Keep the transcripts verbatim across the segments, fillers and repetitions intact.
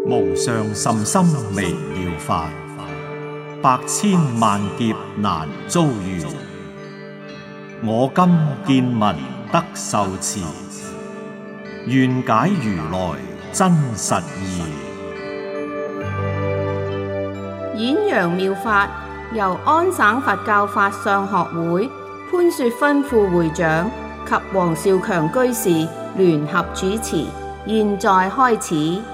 無上甚深微妙法，百千萬劫難遭遇。我今見聞得受持，願解如來真實義。 演揚妙法由安省佛教法相學會潘雪芬副會長及黃少強居士聯合主持，現在開始。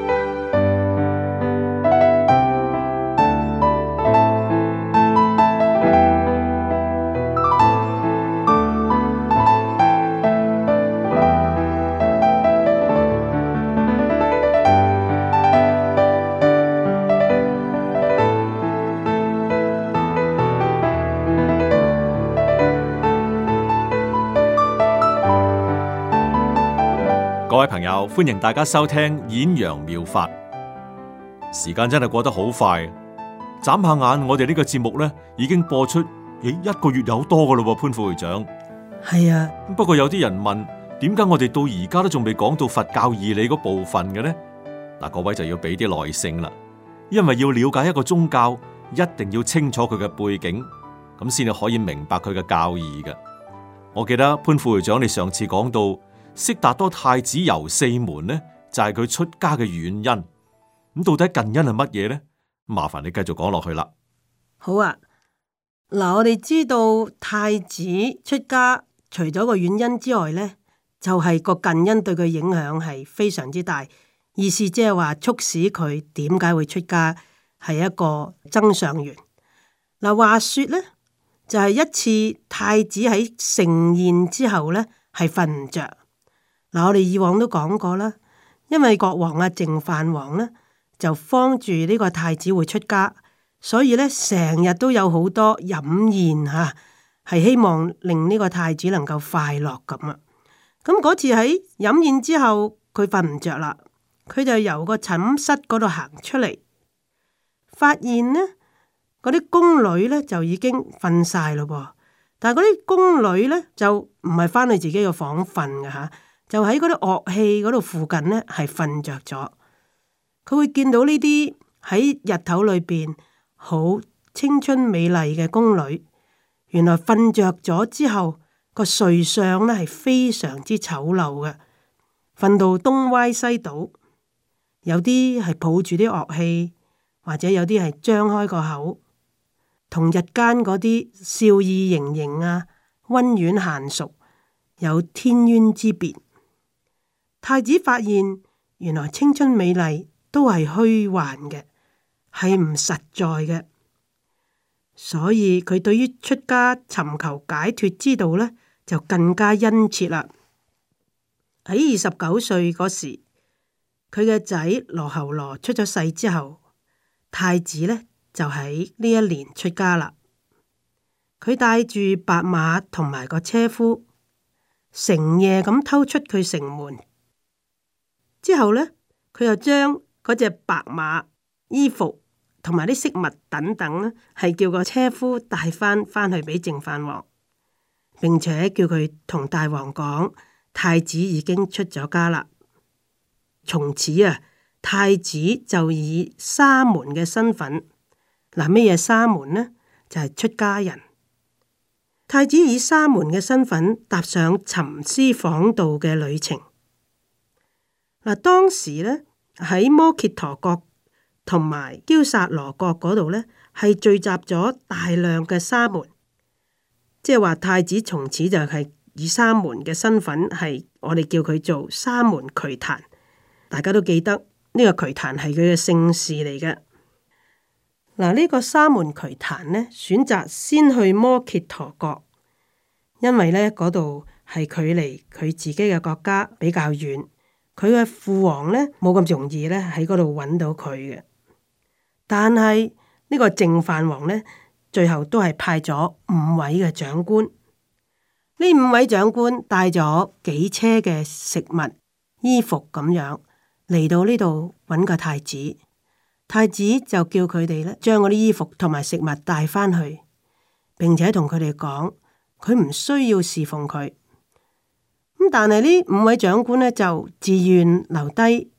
各位朋友，歡迎大家收聽演揚妙法。時間真係過得好快，眨下眼，我哋呢個節目咧已經播出咦一個月有多噶咯。潘副會長， 係啊。 不過有啲人問，點解我哋到而家都仲未講到佛教義理嗰部分嘅呢？嗱，各位就要俾啲耐性啦，因為要了解一個宗教，一定要清楚佢嘅背景，咁先至可以明白佢嘅教義嘅。我記得潘副會長，你上次講到悉達多太子遊四門呢，就係佢出家嘅遠因。咁到底近因係乜嘢呢？麻煩你繼續講落去啦。 好啊，嗱，我哋知道太子出家，除咗個遠因之外呢，就係個近因對佢影響係非常之大。意思即係話促使佢點解會出家，係一個增上緣。嗱，話說呢，就係一次太子喺盛宴之後呢，係瞓唔着。嗱，我哋以往都講過啦，因為國王啊淨飯王呢，就慌住呢個太子會出家，所以呢，成日都有好多飲宴吓，係希望令呢個太子能夠快樂咁啊。咁嗰次喺飲宴之後，佢瞓唔着啦，佢就由個寢室嗰度行出嚟，發現呢嗰啲宮女呢就已經瞓晒咯噃，但係嗰啲宮女呢，就唔係翻去自己嘅房瞓嘅吓。就喺嗰啲樂器嗰度附近呢，係瞓着咗。佢會見到呢啲喺日頭裏邊好青春美麗嘅宮女，原來瞓着咗之後個睡相呢係非常之醜陋嘅，瞓到東歪西倒，有啲係抱住啲樂器，或者有啲係張開個口，同日間嗰啲笑意盈盈啊、溫婉嫻淑有天淵之別。太子發現原來青春美麗都係虛幻嘅，係唔實在嘅，所以佢對於出家尋求解脫之道呢，就更加殷切啦。喺二十九歲嗰時，佢嘅仔羅睺羅出咗世之後，太子呢就喺呢一年出家啦。佢帶住白馬同埋個車夫，成夜咁偷出佢城門。之後呢，佢又將嗰隻白馬、衣服同埋啲飾物等等呢，係叫個車夫帶翻翻去俾淨飯王，並且叫佢同大王講，太子已經出咗家啦。從此啊，太子就以沙門嘅身份，嗱，咩嘢沙門呢？就係出家人。太子以沙門嘅身份踏上尋師訪道嘅旅程。嗱，當時咧喺摩羯陀國同埋憍薩羅國嗰度咧，係聚集咗大量嘅沙門，即係話太子從此就係以沙門嘅身份，係我哋叫佢做沙門瞿曇。大家都記得呢個瞿曇係佢嘅姓氏嚟嘅。嗱，呢個沙門瞿曇呢，選擇先去摩羯陀國，因為呢嗰度係距離佢自己嘅國家比較遠。佢嘅父王呢，冇咁容易呢喺嗰度揾到佢嘅，但係呢個淨飯王呢，最後都係派咗五位嘅長官，呢五位長官帶咗幾車嘅食物、衣服咁樣嚟到呢度揾個太子，太子就叫佢哋呢將嗰啲衣服同埋食物帶翻去，並且同佢哋講，佢唔需要侍奉佢。咁但係呢五位長官呢，就自願留低，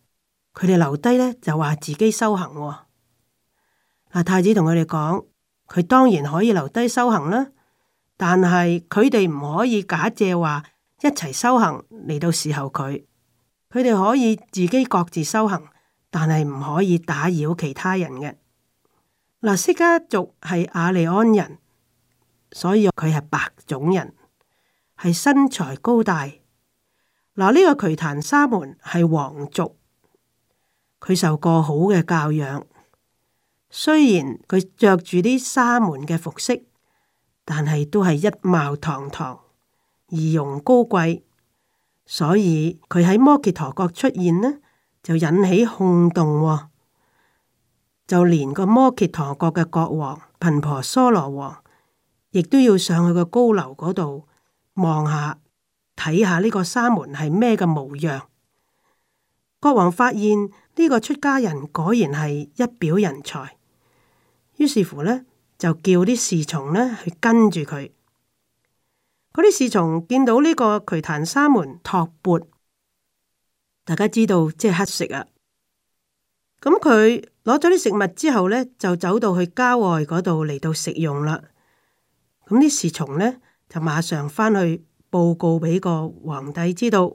佢哋留低呢，就話自己修行喎。嗱，太子同佢哋講，佢當然可以留低修行啦，但係佢哋唔可以假借話一齊修行嚟到侍候佢。佢哋可以自己各自修行，但係唔可以打擾其他人嘅。嗱，釋迦族係雅利安人，所以佢係白種人，係身材高大。嗱，呢個瞿曇沙門係皇族，佢受過好嘅教養。雖然佢着住啲沙門嘅服飾，但係都係一貌堂堂，儀容高貴。所以佢喺摩羯陀國出現呢，就引起轟動喎。就連個摩羯陀國嘅國王頻婆娑羅王，亦都要上去個高樓嗰度望下，睇下呢個沙門係咩嘅模樣。國王發現呢個出家人果然係一表人才，於是乎呢，就叫啲侍從呢去跟住佢。嗰啲侍從見到呢個瞿曇沙門托缽，大家知道即係乞食啊。咁佢攞咗啲食物之後呢，就走到去郊外嗰度嚟到食用啦。咁啲侍從呢，就馬上返去報告俾個皇帝知道。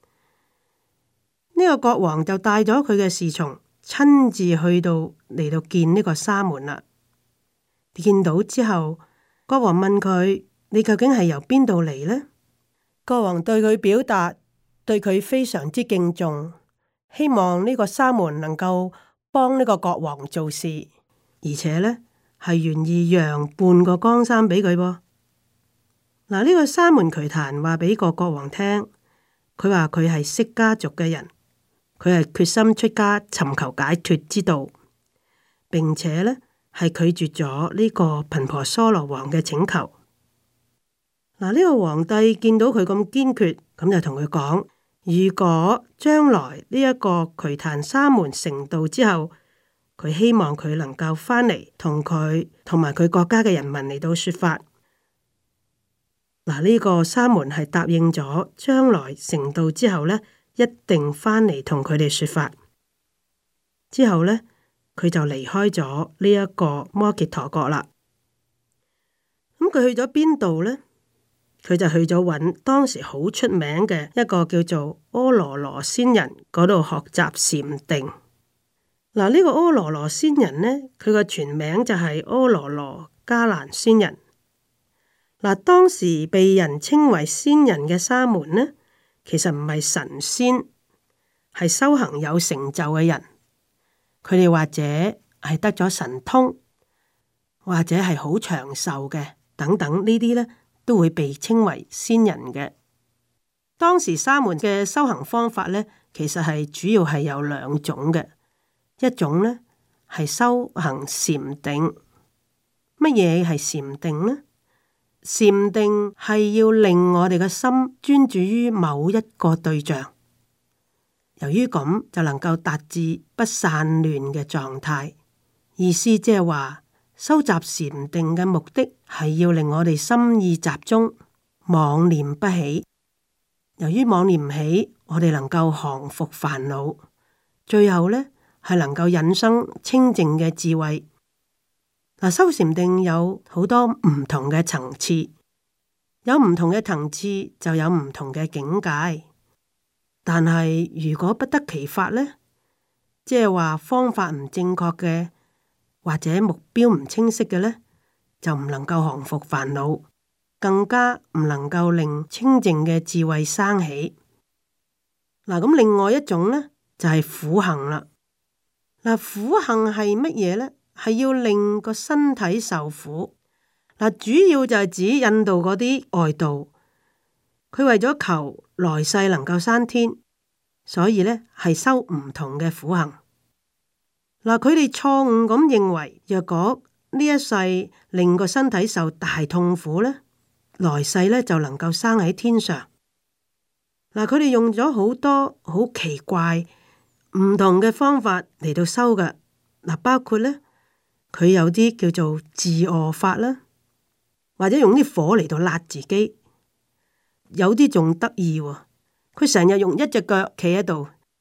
呢個國王就帶咗佢嘅侍從親自去到嚟到見呢個沙門啦。見到之後，國王問佢：你究竟係由邊度嚟呢？國王對佢表達對佢非常之敬重，希望呢個沙門能夠幫呢個國王做事，而且呢係願意讓半個江山俾佢噃。嗱，呢個沙門瞿曇話俾個國王聽，佢話佢係釋迦族嘅人，佢係決心出家尋求解脫之道，並且呢係拒絕咗呢個頻婆娑羅王嘅請求。嗱，呢個皇帝見到佢咁堅決，咁就同佢講：如果將來呢一個瞿曇沙門成道之後，佢希望佢能夠翻嚟同佢同埋佢國家嘅人民嚟到說法。嗱，呢個沙門係答應咗，將來成道之後呢，一定翻嚟同佢哋說法。之後呢，佢就離開咗呢一個摩羯陀國啦。咁佢去咗邊度呢？佢就去咗揾當時好出名嘅一個叫做阿羅羅仙人嗰度學習禪定。嗱，呢個阿羅羅仙人呢，佢個全名就係阿羅羅迦蘭仙人。嗱，當時被人稱為仙人嘅沙門呢，其實唔係神仙，係修行有成就嘅人。佢哋或者係得咗神通，或者係好長壽嘅，等等呢啲呢，都會被稱為仙人嘅。當時沙門嘅修行方法呢，其實係主要係有兩種嘅。一種呢係修行禪定。乜嘢係禪定呢？禪定係要令我哋嘅心專注於某一個對象，由於咁就能夠達至不散亂嘅狀態。意思即係話，收集禪定嘅目的係要令我哋心意集中，妄念不起。由於妄念唔起，我哋能夠降伏煩惱，最後呢係能夠引生清淨嘅智慧。嗱，修禪定有好多唔同嘅層次，有唔同嘅層次就有唔同嘅境界。但係如果不得其法呢，即係話方法唔正確嘅，或者目標唔清晰嘅呢，就唔能夠降服煩惱，更加唔能夠令清淨嘅智慧生起。嗱，咁另外一種呢，就係苦行啦。嗱，苦行係乜嘢呢？係要令個身體受苦。嗱，主要就係指印度嗰啲外道，佢為咗求來世能夠生天，所以呢係修唔同嘅苦行。嗱，佢哋錯誤咁認為，若果呢一世令個身體受大痛苦呢，來世呢就能夠生喺天上。嗱，佢哋用咗好多好奇怪唔同嘅方法嚟到修嘅。嗱，包括呢，佢有啲叫做自餓法啦，或者用啲火嚟到焫自己。有啲仲得意喎，佢成日用一隻腳企喺度，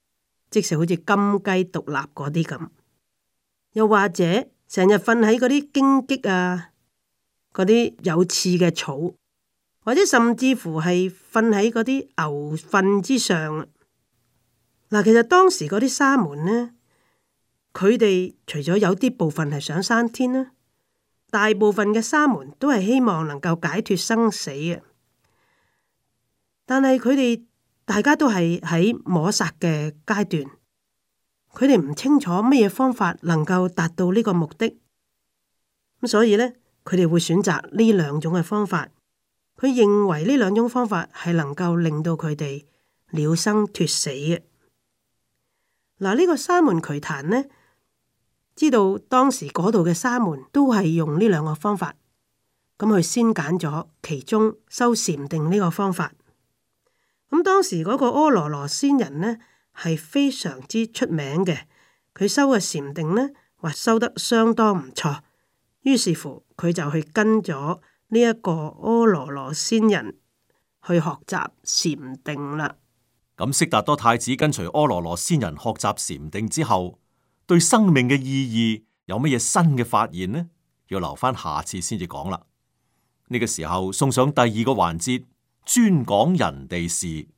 即係好似金雞獨立嗰啲咁。又或者成日瞓喺嗰啲荊棘啊，嗰啲有刺嘅草，或者甚至乎係瞓喺嗰啲牛糞之上。嗱，其實當時嗰啲沙門呢，佢哋除咗有啲部分係想生天啦，大部分嘅沙門都係希望能夠解脫生死嘅。但係佢哋大家都係喺摸索嘅階段，佢哋唔清楚乜嘢方法能夠達到呢個目的，咁所以呢，佢哋會選擇呢兩種嘅方法。佢認為呢兩種方法係能夠令到佢哋了生脫死嘅。嗱，呢個沙門瞿曇呢，知道當時嗰度嘅沙門都係用呢兩個方法，咁佢先揀咗其中修禪定呢個方法。咁當時嗰個阿羅羅仙人呢，係非常之出名嘅，佢修嘅禪定呢，話修得相當唔錯，於是乎佢就去跟咗呢一個阿羅羅仙人去學習禪定啦。 咁悉達多太子跟隨阿羅羅仙人學習禪定之後，對生命嘅意義有乜嘢新嘅發現呢？要留翻下次先至講啦。呢個時候送上第二個環節，專講人地事。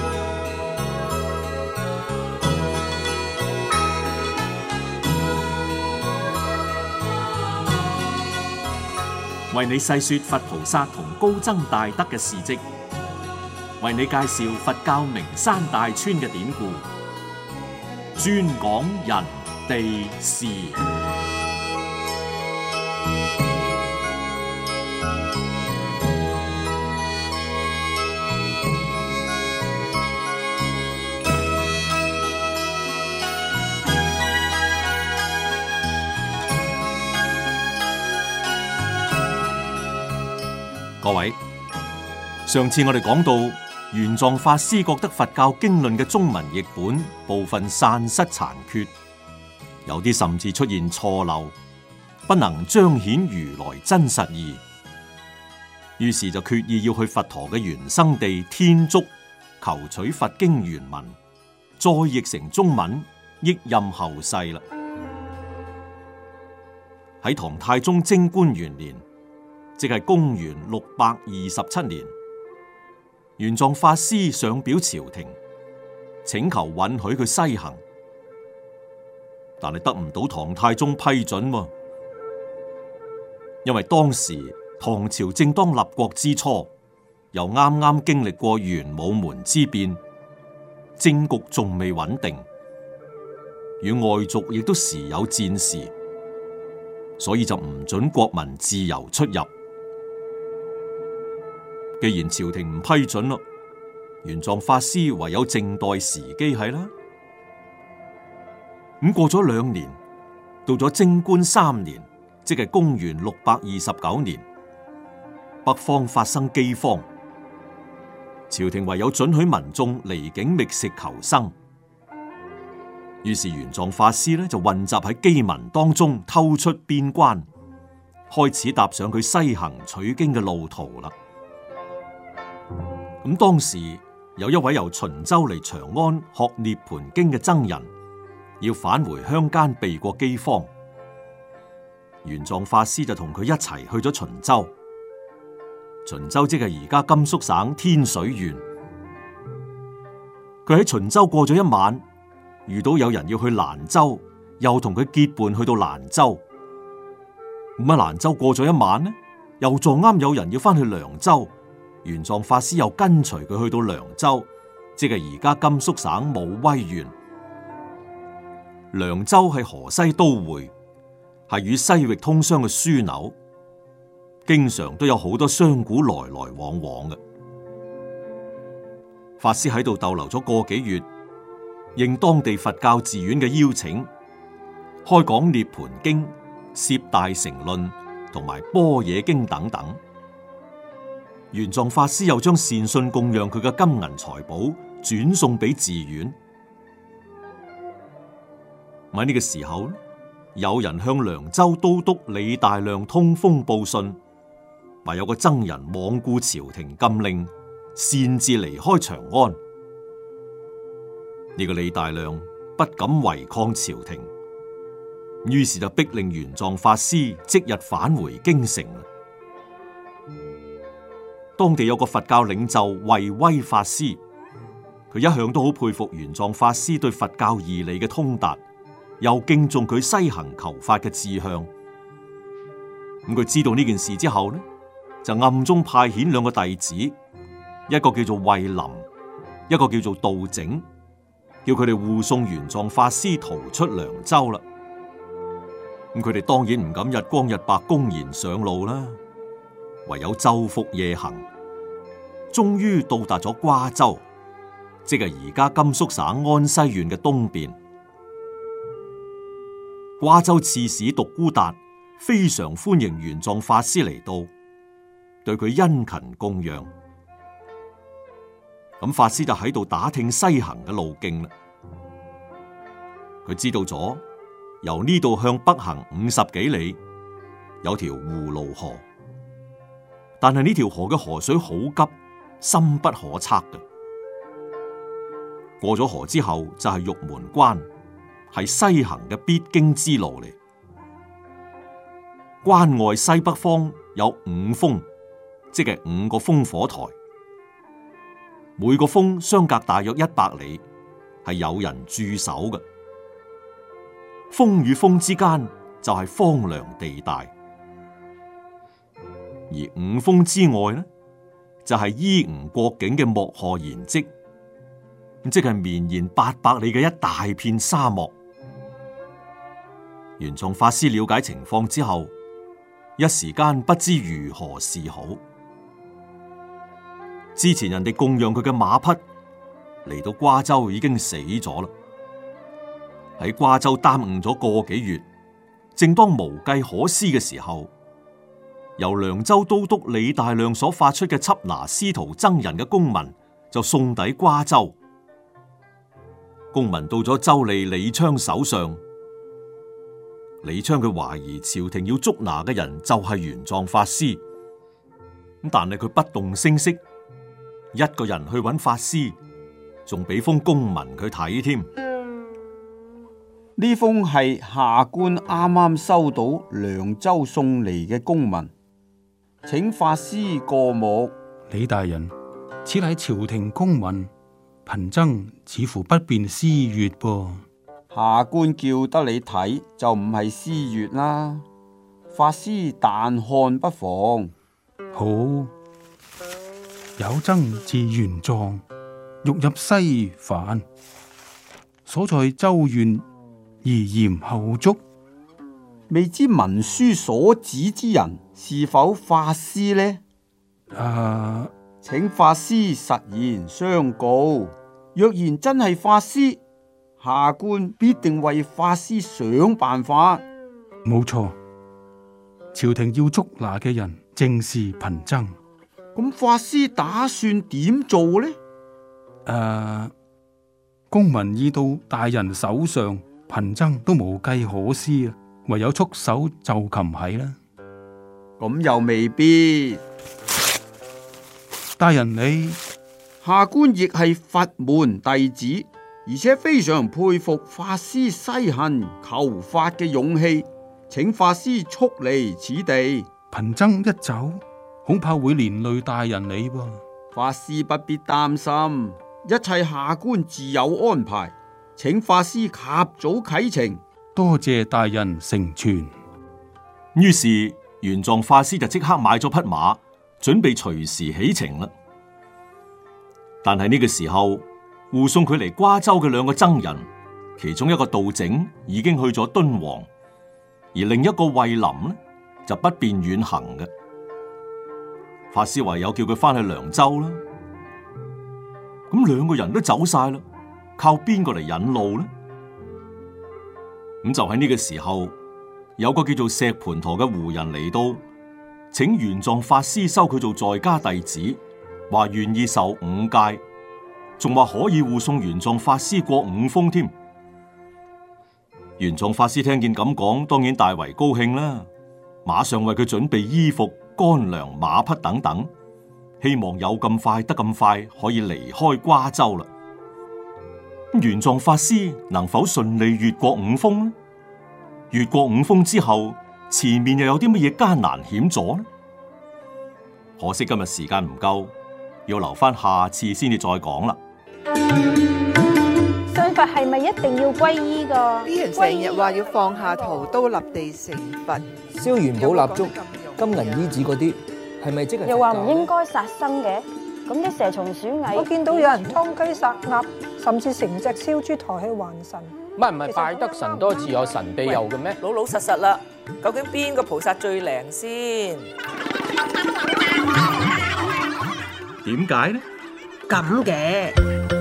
為你細說佛菩薩同高僧大德嘅事跡，為你介紹佛教名山大川嘅典故，專講人地事。各位，上次我哋講到玄奘法師覺得佛教經論嘅中文譯本部分散失殘缺，有啲甚至出現錯漏，不能彰顯如來真實義，於是就決意要去佛陀嘅原生地天竺求取佛經原文，再譯成中文，益蔭後世啦。喺唐太宗貞觀元年，即係公元六百二十七年，玄奘法師上表朝廷，請求允許佢西行，但係得唔到唐太宗批准喎。因為當時唐朝正當立國之初，又啱啱經歷過玄武門之變，政局仲未穩定，與外族亦都時有戰事，所以就唔准國民自由出入。既然朝廷唔批准咯，玄奘法師唯有靜待時機係啦。咁過咗兩年，到咗貞觀三年，即係公元六百二十九年，北方發生饑荒，朝廷唯有准許民眾離境覓食求生。於是玄奘法師呢就混雜喺饑民當中，偷出邊關，開始踏上佢西行取經嘅路途啦。咁當時有一位由秦州嚟長安學涅槃經嘅僧人，要返回鄉間避過饑荒，玄奘法師就同佢一齊去咗秦州。秦州即係而家甘肅省天水縣。佢喺秦州過咗一晚，遇到有人要去蘭州，又同佢結伴去到蘭州。咁喺蘭州過咗一晚呢，又撞啱有人要翻去涼州。玄奘法師又跟隨佢去到涼州，即係而家甘肅省武威縣。涼州係河西都會，係與西域通商嘅樞紐，經常都有好多商賈來來往往嘅。法師喺度逗留咗個幾月，應當地佛教寺院嘅邀請，開講涅槃經、攝大乘論同埋般若經等等。玄奘法師又將善信供養佢嘅金銀財寶轉送俾寺院。喺呢個時候，有人向涼州都督李大亮通風報信，話有個僧人罔顧朝廷禁令，擅自離開長安。呢、這個李大亮不敢違抗朝廷，於是就逼令玄奘法師即日返回京城。當地有個佛教領袖慧威法師，佢一向都好佩服玄奘法師對佛教義理嘅通達，又敬重佢西行求法嘅志向。咁佢知道呢件事之後呢，就暗中派遣兩個弟子，一個叫做慧林，一個叫做道整，叫佢哋護送玄奘法師逃出涼州啦。咁佢哋當然唔敢日光日白公然上路啦，唯有晝伏夜行，終於到達咗瓜州，即係而家甘肅省安西縣嘅東邊。瓜州刺史獨孤達非常歡迎玄奘法師嚟到，對佢殷勤供養。咁法師就喺度打聽西行嘅路徑啦。佢知道咗由呢度向北行五十幾里，有條葫蘆河，但係呢條河嘅河水好急，深不可測嘅。過咗河之後就係玉門關，係西行嘅必經之路嚟。關外西北方有五峰，即係五個烽火台，每個峰相隔大約一百里，係有人駐守嘅。峰與峰之間就係荒涼地帶，而五峰之外呢，就係伊吾國境嘅莫賀延磧，即係綿延八百里嘅一大片沙漠。玄奘法師了解情況之後，一時間不知如何是好。之前人哋供養佢嘅馬匹嚟到瓜州已經死咗啦，喺瓜州耽誤咗個幾月，正當無計可施嘅時候，由涼州都督李大亮所發出嘅緝拿司徒僧人嘅公文就送抵瓜州。公文到咗州吏李昌手上，李昌佢懷疑朝廷要捉拿嘅人就係玄奘法師，咁但係佢不動聲色，一個人去揾法師，仲俾封公文佢睇添。 呢封係下官啱啱收到涼州送嚟嘅公文，請法師過目。 李大人，此乃朝廷公文，貧僧似乎不便私閱噃。 下官叫得你睇就唔係私閱啦，法師但看不妨。 好，有僧自玄奘欲入西返，所在州縣宜嚴後捉， 未知文書所指之人是否法師呢？ 啊， 請法師實言相告。若然真係法師，下官必定為法師想辦法。 冇錯，朝廷要捉拿嘅人正是貧僧。 咁法師打算點做呢？ 誒、啊，公文已到大人手上，貧僧都無計可施啊，唯有束手就擒係啦。 咁又未必。 大人你， 下官亦係佛門弟子，而且非常佩服法師西行求法嘅勇氣，請法師速離此地。 貧僧一走，恐怕會連累大人你噃。 法師不必擔心，一切下官自有安排，請法師及早啟程。 多謝大人成全。 於是玄奘法師就即刻買咗匹馬，準備隨時起程啦。但係呢個時候，護送佢嚟瓜州嘅兩個僧人，其中一個道整已經去咗敦煌，而另一個慧林呢就不便遠行嘅。法師唯有叫佢翻去涼州啦。咁兩個人都走晒啦，靠邊個嚟引路呢？咁就喺呢個時候，有個叫做石盤陀嘅胡人嚟到，請玄奘法師收佢做在家弟子，話願意受五戒，仲話可以護送玄奘法師過五峰添。玄奘法師聽見咁講，當然大為高興啦，馬上為佢準備衣服、乾糧、馬匹等等，希望有咁快得咁快可以離開瓜州啦。 玄奘法師能否順利越過五峰呢？越過五峰之後，前面又有啲乜嘢艱難險阻呢？可惜今日時間唔夠，要留翻下次先至再講啦。 信佛係咪一定要皈依噶？ 啲人成日話要放下屠刀立地成佛， 燒元寶蠟燭、金銀衣紙嗰啲，係咪即係？ 又話唔應該殺生嘅，咁啲蛇蟲鼠蟻， 我見到有人劏雞殺鴨，甚至成隻燒豬抬去還神。 唔係唔係，拜得神多自有神庇佑嘅咩？ 老老實實啦，究竟邊個菩薩最靈先？ 點解呢？ 咁嘅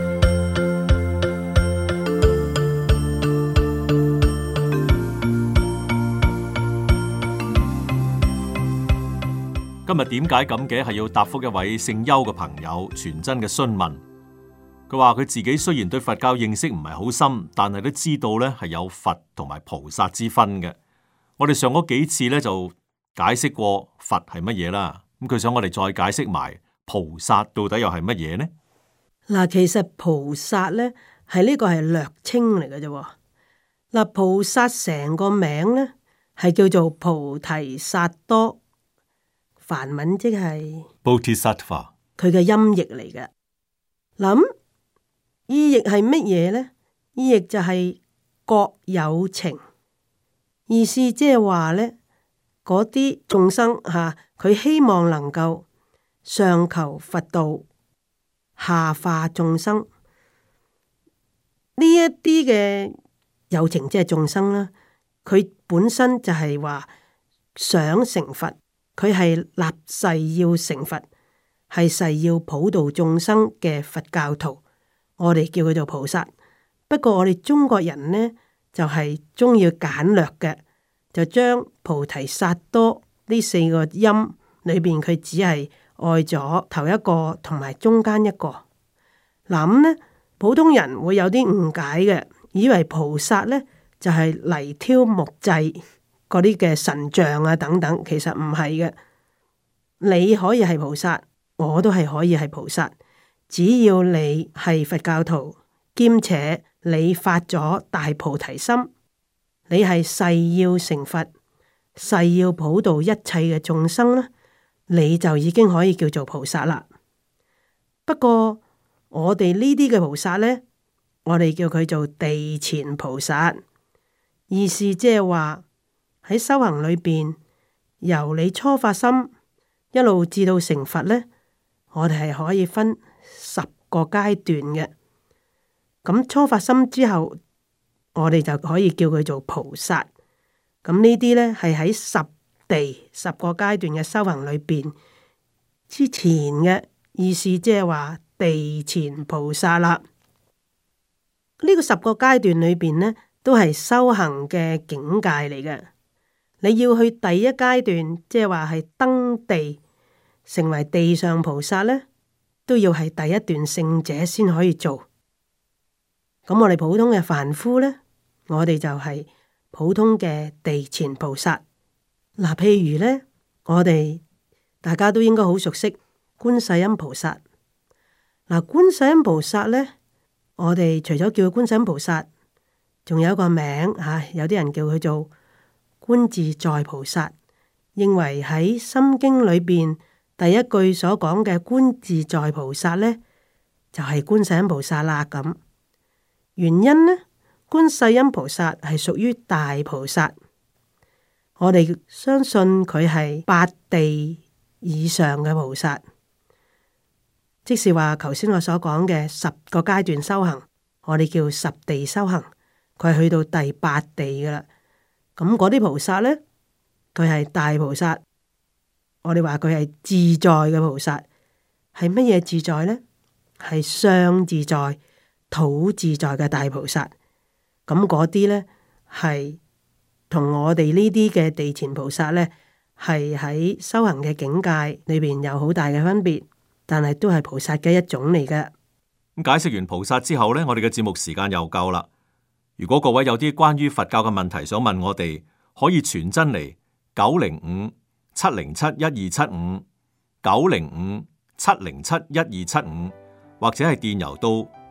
今日點解咁嘅係要答覆一位姓邱嘅朋友傳真嘅詢問。佢話佢自己雖然對佛教認識唔係好深，但係都知道咧係有佛同埋菩薩之分嘅。我哋上嗰幾次咧就解釋過佛係乜嘢啦，咁佢想我哋再解釋埋菩薩到底又係乜嘢呢？ 嗱，其實菩薩咧係呢個係略稱嚟嘅啫。嗱，菩薩成個名咧係叫做菩提薩多，梵文即係 Bodhisattva， 佢嘅音譯嚟嘅。諗意譯係乜嘢咧？意譯就係覺有情，意思即係話咧，嗰啲眾生吓，佢希望能夠上求佛道，下化眾生。呢一啲嘅有情即係眾生啦，佢本身就係話想成佛，佢係立誓要成佛，係誓要普度眾生嘅佛教徒。我哋叫佢做菩薩。不過我哋中國人呢，就係中意簡略嘅，就將菩提薩多呢四個音裏邊，佢只係愛咗頭一個同埋中間一個。諗呢，普通人會有啲誤解嘅，以為菩薩呢就係泥雕木製嗰啲嘅神像啊等等，其實唔係嘅。你可以係菩薩，我都係可以係菩薩。只要你係佛教徒，兼且你發咗大菩提心，你係誓要成佛，誓要普度一切嘅眾生咧，你就已經可以叫做菩薩啦。不過我哋呢啲嘅菩薩呢，我哋叫佢做地前菩薩，意思即係話喺修行裏邊，由你初發心一路至到成佛呢，我哋係可以分十個階段嘅。咁初發心之後，我哋就可以叫佢做菩薩。咁呢啲呢，係喺十地十個階段嘅修行裏邊之前嘅意思，即係話地前菩薩啦。呢個十個階段裏邊呢，都係修行嘅境界嚟嘅。你要去第一階段，即係話係登地成為地上菩薩呢，都要係第一段聖者先可以做。咁我哋普通嘅凡夫呢，我哋就係普通嘅地前菩薩。嗱，譬如呢，我哋大家都應該好熟悉觀世音菩薩。嗱，觀世音菩薩呢，我哋除咗叫佢觀世音菩薩，仲有一個名吓，有啲人叫佢做觀自在菩薩，認為喺心經裏邊第一句所講嘅觀自在菩薩呢，就係觀世音菩薩啦。咁原因呢，觀世音菩薩係屬於大菩薩，我哋相信佢係八地以上嘅菩薩，即是話頭先我所講嘅十個階段修行，我哋叫十地修行，佢係去到第八地噶啦。咁嗰啲菩薩呢，佢係大菩薩，我哋話佢係自在嘅菩薩。係乜嘢自在呢？係相自在、土自在嘅大菩薩。咁嗰啲呢，係同我哋呢啲嘅地前菩薩呢，係喺修行嘅境界裏邊有好大嘅分別，但係都係菩薩嘅一種嚟嘅。 咁解釋完菩薩之後呢，我哋嘅節目時間又夠啦。如果各位有啲關於佛教嘅問題想問我哋，可以傳真嚟九零五七零七一二七五九零五七零七一二七五，或者係電郵到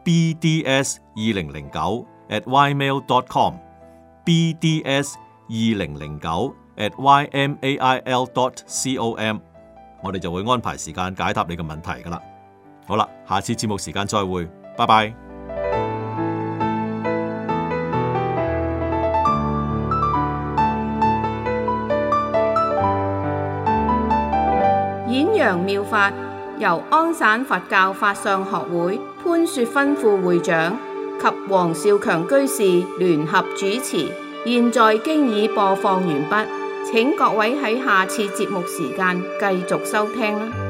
b d s 二零零九 at y mail dot com b d s 二零零九 at y m a i l dot com， 我哋就會安排時間解答你嘅問題噶啦。好啦，下次節目時間再會，拜拜。 演揚妙法由安省佛教法相學會潘雪芬副會長及黃少強居士聯合主持，現在經已播放完畢，請各位喺下次節目時間繼續收聽啦。